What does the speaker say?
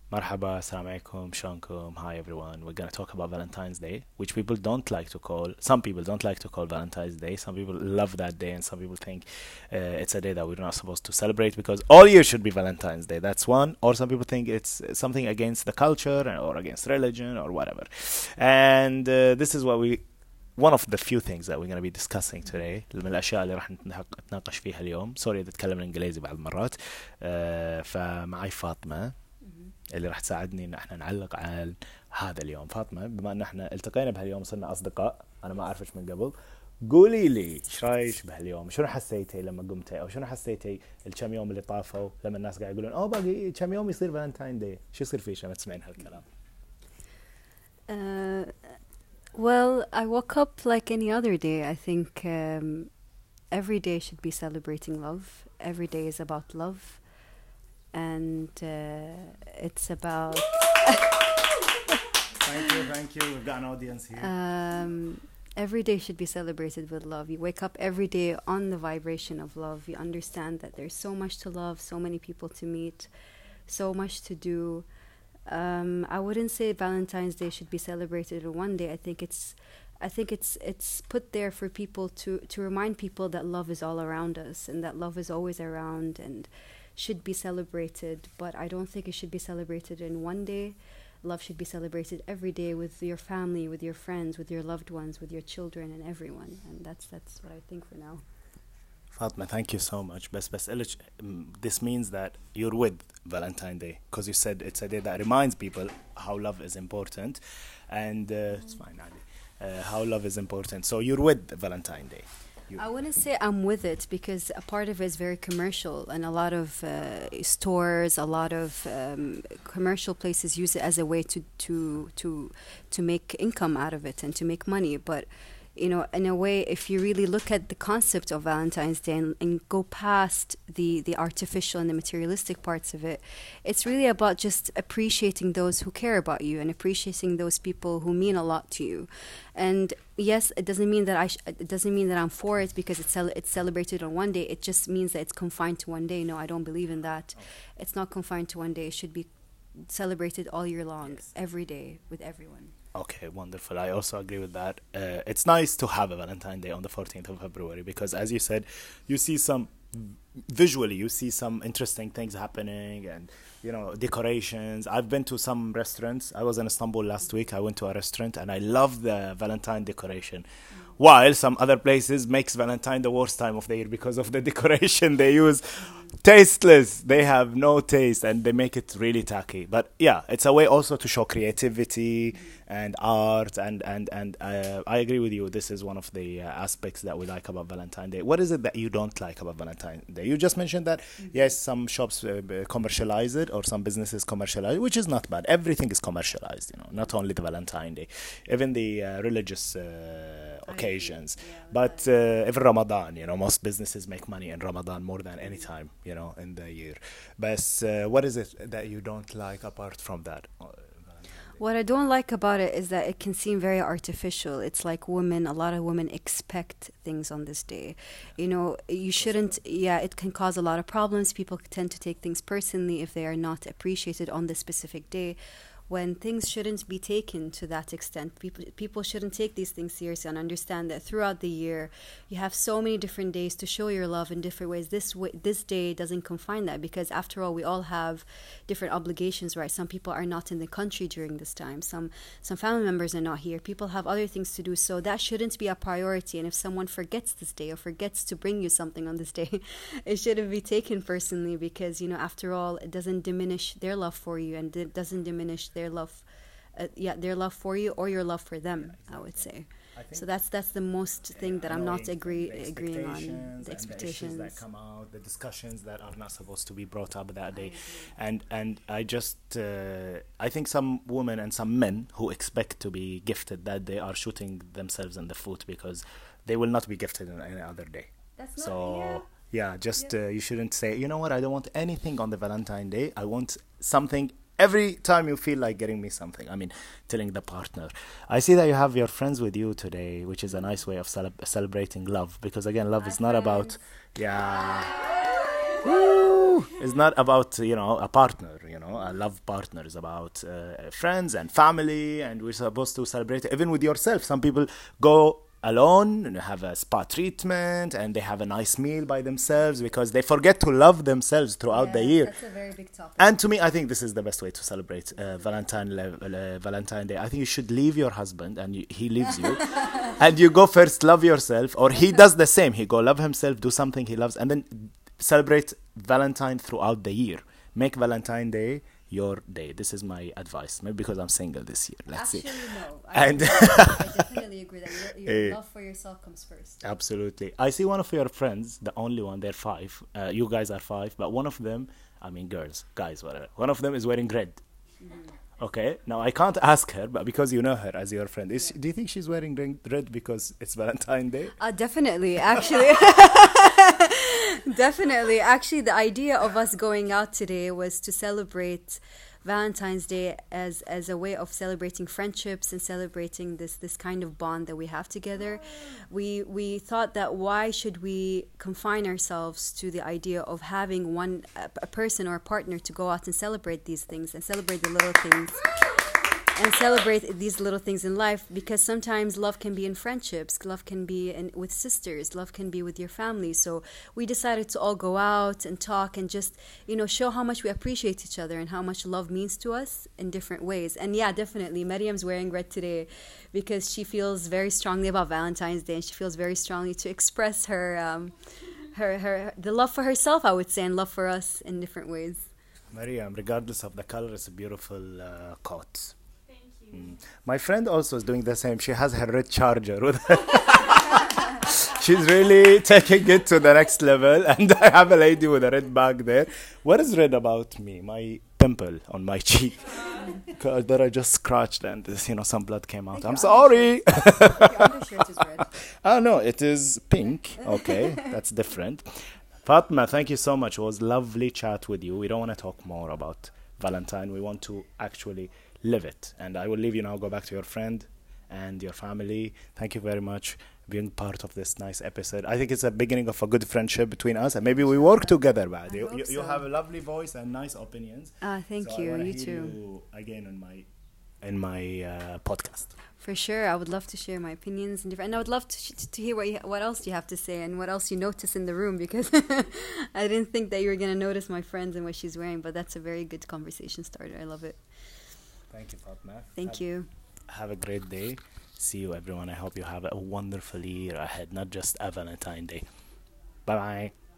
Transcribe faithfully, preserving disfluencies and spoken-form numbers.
Marhaba, assalamu alaikum, shalom, hi everyone. We're gonna talk about Valentine's Day, which people don't like to call. Some people don't like to call Valentine's Day. Some people love that day, and some people think uh, it's a day that we're not supposed to celebrate because all year should be Valentine's Day. That's one. Or some people think it's something against the culture or against religion or whatever. And uh, this is what we one of the few things that we're going to be discussing today من الأشياء اللي راح نتناقش فيها اليوم. سوري إذا أتكلم الإنجليزي بعض المرات. uh, فمعي فاطمة اللي راح تساعدني إن إحنا نعلق على هذا اليوم. فاطمة، بما إن إحنا التقينا بهاليوم وصرنا أصدقاء، أنا ما أعرفش من قبل، قولي لي إيش رايك بهاليوم؟ شنو حسيتي لما قمتي، أو شنو حسيتي الكم يوم اللي طافوا لما الناس قاعد يقولون أوه باقي كم يوم يصير فالنتاين داي؟ شو يصير فيش لما تسمعين هالكلام؟ Uh, well, I woke up like any other day. I think um, every day should be celebrating love. Every day is about love. And uh, it's about Thank you, thank you. We've got an audience here. um, every day should be celebrated with love. You wake up every day on the vibration of love. You understand that there's so much to love, so many people to meet, so much to do. Um, I wouldn't say Valentine's Day should be celebrated in one day. I think it's I think it's it's put there for people to, to remind people that love is all around us and that love is always around and should be celebrated. But I don't think it should be celebrated in one day. Love should be celebrated every day with your family, with your friends, with your loved ones, with your children and everyone. And that's that's what I think for now. Fatma, thank you so much. بس بسألك, this means that you're with Valentine Day because you said it's a day that reminds people how love is important, and uh, it's fine, Ali. Uh, how love is important. So you're with Valentine Day. You I wouldn't say I'm with it because a part of it is very commercial, and a lot of uh, stores, a lot of um, commercial places use it as a way to to to to make income out of it and to make money. But you know, in a way, if you really look at the concept of Valentine's Day and, and go past the, the artificial and the materialistic parts of it, it's really about just appreciating those who care about you and appreciating those people who mean a lot to you. And yes, it doesn't mean that I sh- it doesn't mean that I'm for it because it's cel- it's celebrated on one day. It just means that it's confined to one day. No, I don't believe in that. It's not confined to one day. It should be celebrated all year long, Yes. every day with everyone. Okay, wonderful. I also agree with that. Uh, it's nice to have a Valentine Day on the fourteenth of February because, as you said, you see some visually, you see some interesting things happening and, you know, decorations. I've been to some restaurants. I was in Istanbul last week. I went to a restaurant and I love the Valentine decoration. While some other places makes Valentine the worst time of the year because of the decoration they use. Tasteless. They have no taste and they make it really tacky. But yeah, it's a way also to show creativity and art. And, and, and uh, I agree with you. This is one of the uh, aspects that we like about Valentine Day. What is it that you don't like about Valentine Day? You just mentioned that, mm-hmm. yes, some shops uh, commercialize it or some businesses commercialize it, which is not bad. Everything is commercialized, you know, not only the Valentine Day, even the uh, religious uh, occasions. Yeah, but uh, even Ramadan, you know, most businesses make money in Ramadan more than any time, you know, in the year. But uh, what is it that you don't like apart from that? What I don't like about it is that it can seem very artificial. It's like women, a lot of women expect things on this day. You know, you shouldn't, yeah, it can cause a lot of problems. People tend to take things personally if they are not appreciated on this specific day, when things shouldn't be taken to that extent. People people shouldn't take these things seriously and understand that throughout the year you have so many different days to show your love in different ways. This way, this day doesn't confine that because after all we all have different obligations, right? Some people are not in the country during this time. Some some family members are not here. People have other things to do, so that shouldn't be a priority. And if someone forgets this day or forgets to bring you something on this day, it shouldn't be taken personally because, you know, after all, it doesn't diminish their love for you and it doesn't diminish their their love uh, yeah their love for you or your love for them. Yeah, exactly. I would say I so that's that's the most thing yeah, that I'm not agree agreeing on, the expectations and the issues that come out, the discussions that are not supposed to be brought up that day. and and I just uh, I think some women and some men who expect to be gifted that day are shooting themselves in the foot because they will not be gifted on any other day. That's so not, yeah. yeah just yeah. Uh, you shouldn't say, you know what, I don't want anything on the Valentine Day. I want something every time you feel like getting me something. I mean, telling the partner. I see that you have your friends with you today, which is a nice way of cele- celebrating love. Because again, love Hi is not friends. about, yeah. Woo! true. It's not about, you know, a partner, you know, a love partner. Is about uh, friends and family, and we're supposed to celebrate it. Even with yourself. Some people go alone and have a spa treatment, and they have a nice meal by themselves because they forget to love themselves throughout Yes, the year. that's a very big topic. And to me, I think this is the best way to celebrate uh, Valentine le- uh, Valentine Day. I think you should leave your husband, and you, he leaves you, and you go first love yourself, or he does the same. He go love himself, do something he loves, and then celebrate Valentine throughout the year. Make Valentine Day your day. This is my advice. Maybe because I'm single this year. Let's Actually, see. no. I, And I definitely agree that your, your Eh. love for yourself comes first. Absolutely. I see one of your friends, the only one, they're five. Uh, you guys are five, but one of them, I mean girls, guys, whatever. One of them is wearing red. Okay, now I can't ask her, but because you know her as your friend, is she, do you think she's wearing red red because it's Valentine's Day? Uh, definitely, actually. Definitely. Actually, the idea of us going out today was to celebrate Valentine's Day as as a way of celebrating friendships and celebrating this this kind of bond that we have together. We we thought that why should we confine ourselves to the idea of having one a, a person or a partner to go out and celebrate these things and celebrate the little things. And celebrate these little things in life, because sometimes love can be in friendships, love can be in, with sisters, love can be with your family. So we decided to all go out and talk and just, you know, show how much we appreciate each other and how much love means to us in different ways. And yeah, definitely, Mariam's wearing red today because she feels very strongly about Valentine's Day, and she feels very strongly to express her, um, her, her, the love for herself, I would say, and love for us in different ways. Mariam, regardless of the color, it's a beautiful uh, coat. Mm. My friend also is doing the same. She has her red charger with her. She's really taking it to the next level. And I have a lady with a red bag there. What is red about me? My pimple on my cheek. Cause that I just scratched and this, you know, some blood came out. I'm sorry. Your undershirt is red. Oh no, it is pink. Okay, that's different. Fatma, thank you so much. It was lovely chat with you. We don't want to talk more about Valentine. We want to actually live it. And I will leave you now. Go back to your friend and your family. Thank you very much for being part of this nice episode. I think it's a beginning of a good friendship between us, and maybe we work together. Bad. You, hope you, you so. have a lovely voice and nice opinions. Ah, thank So I you. wanna You hear too. you again on my in my uh, podcast. For sure, I would love to share my opinions and different. And I would love to sh- to hear what you, what else you have to say and what else you notice in the room, because I didn't think that you were gonna notice my friends and what she's wearing. But that's a very good conversation starter. I love it. Thank you, Fatma. Thank have, you. Have a great day. See you, everyone. I hope you have a wonderful year ahead, not just a Valentine Day. Bye bye.